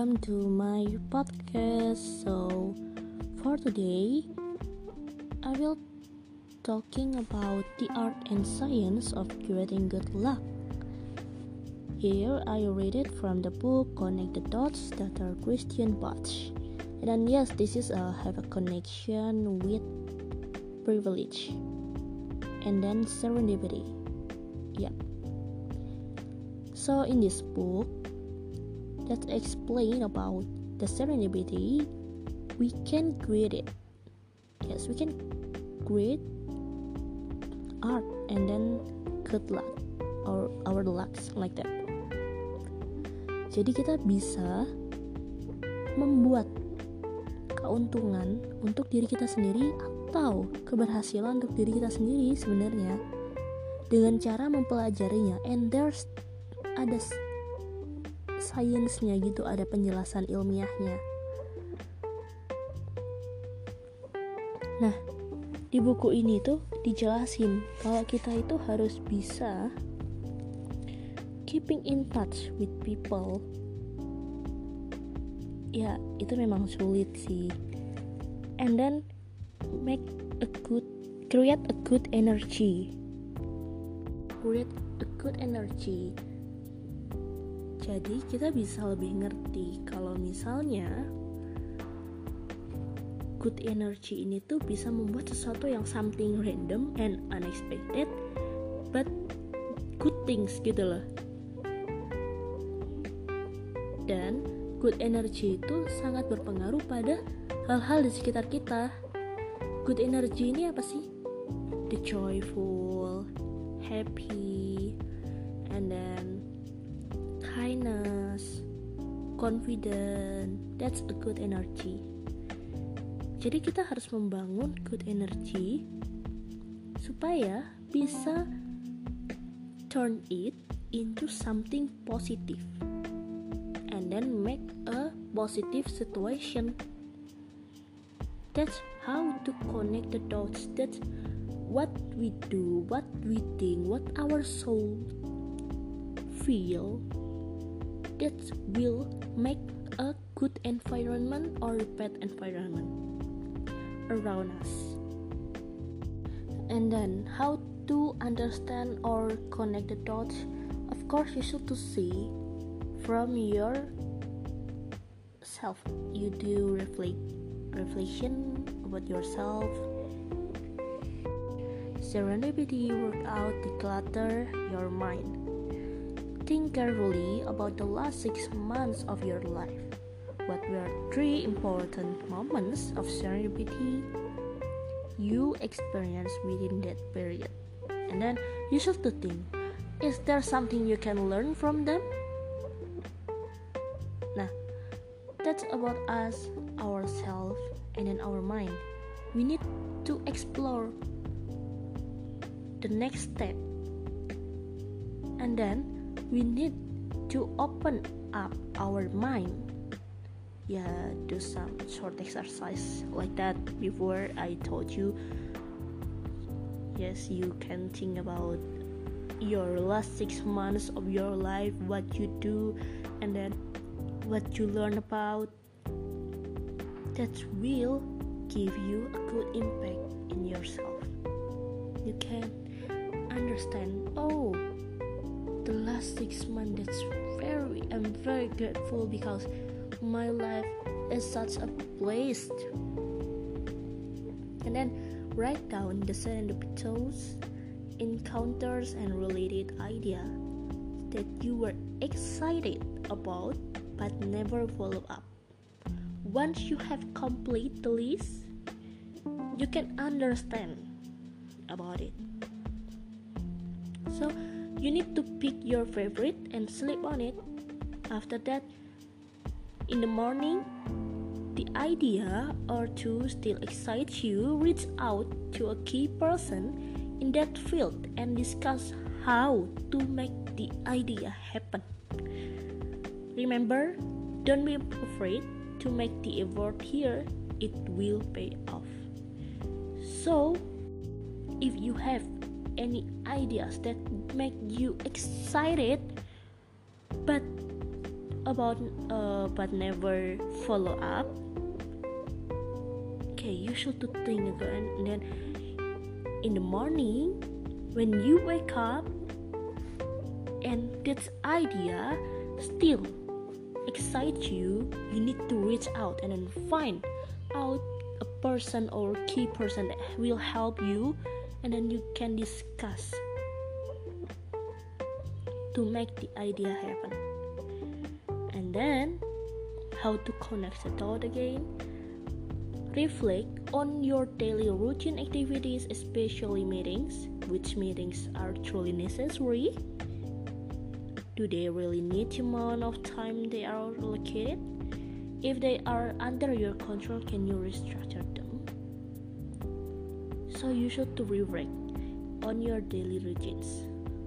welcome to my podcast. So, for today, I will talking about the art and science of creating good luck. Here, I read it from the book Connect the Dots that are Christian Bach. And then yes, this is have a connection with privilege and then serendipity. Yep. So in this book that explain about the serendipity, we can create it. Yes, we can create art and then good luck or our lucks like that. Jadi kita bisa membuat keuntungan untuk diri kita sendiri atau keberhasilan untuk diri kita sendiri sebenarnya dengan cara mempelajarinya. And there's ada sainsnya gitu, ada penjelasan ilmiahnya. Nah, di buku ini tuh dijelasin kalau kita itu harus bisa keeping in touch with people. Ya, itu memang sulit sih. And then create a good energy. Create a good energy. Jadi kita bisa lebih ngerti kalau misalnya good energy ini tuh bisa membuat sesuatu yang something random and unexpected but good things gitu loh. Dan good energy itu sangat berpengaruh pada hal-hal di sekitar kita. Good energy ini apa sih? The joyful, happy, and then kindness, confident. That's a good energy. Jadi kita harus membangun good energy supaya bisa turn it into something positive and then make a positive situation. That's how to connect the dots. That's what we do, what we think, what our soul feel. That will make a good environment or a bad environment around us. And then how to understand or connect the dots? Of course, you should to see from your self. You do reflection about yourself. Serendipity work out declutter your mind. Think carefully about the last 6 months of your life. What were 3 important moments of serendipity you experienced within that period? And then you should to think, is there something you can learn from them? Nah, that's about us, ourselves, and then our mind. We need to explore the next step. And then we need to open up our mind. Yeah, do some short exercise like that. Before I told you, yes, you can think about your last 6 months of your life, what you do, and then what you learn about. That will give you a good impact in yourself. You can understand, oh, the last 6 months, I'm very grateful because my life is such a blessed. And then write down the serendipitous encounters and related ideas that you were excited about but never follow up. Once you have complete the list, you can understand about it. So you need to pick your favorite and sleep on it. After that, in the morning, the idea or two still excites you, reach out to a key person in that field and discuss how to make the idea happen. Remember, don't be afraid to make the effort here, it will pay off. So, if you have any ideas that make you excited but about but never follow up, okay, you should to think again. And then in the morning when you wake up and this idea still excites you, you need to reach out and then find out a person or key person that will help you, and then you can discuss to make the idea happen. And then how to connect the dot again. Reflect on your daily routine activities, especially meetings. Which meetings are truly necessary? Do they really need the amount of time they are allocated? If they are under your control, can you restructure them? So you should to reflect on your daily routines.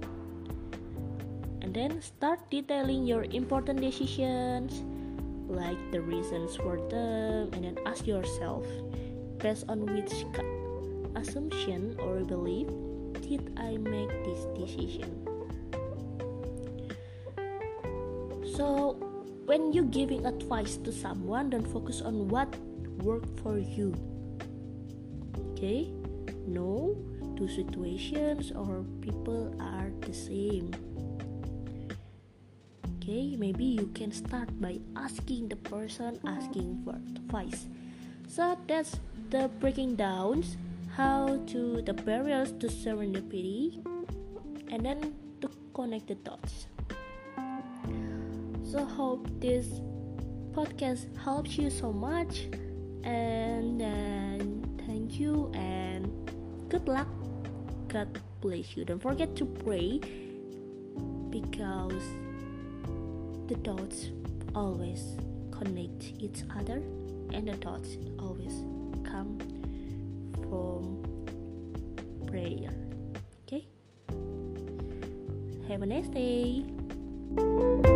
And then start detailing your important decisions, like the reasons for them, and then ask yourself, based on which assumption or belief did I make this decision? So when you giving advice to someone, don't focus on what worked for you. Okay? No, two situations or people are the same. Okay, maybe you can start by asking the person asking for advice. So that's the breaking down how to the barriers to serendipity, and then to connect the dots. So hope this podcast helps you so much, and then thank you and good luck. God bless you. Don't forget to pray, because the dots always connect each other, and the dots always come from prayer. Okay? Have a nice day.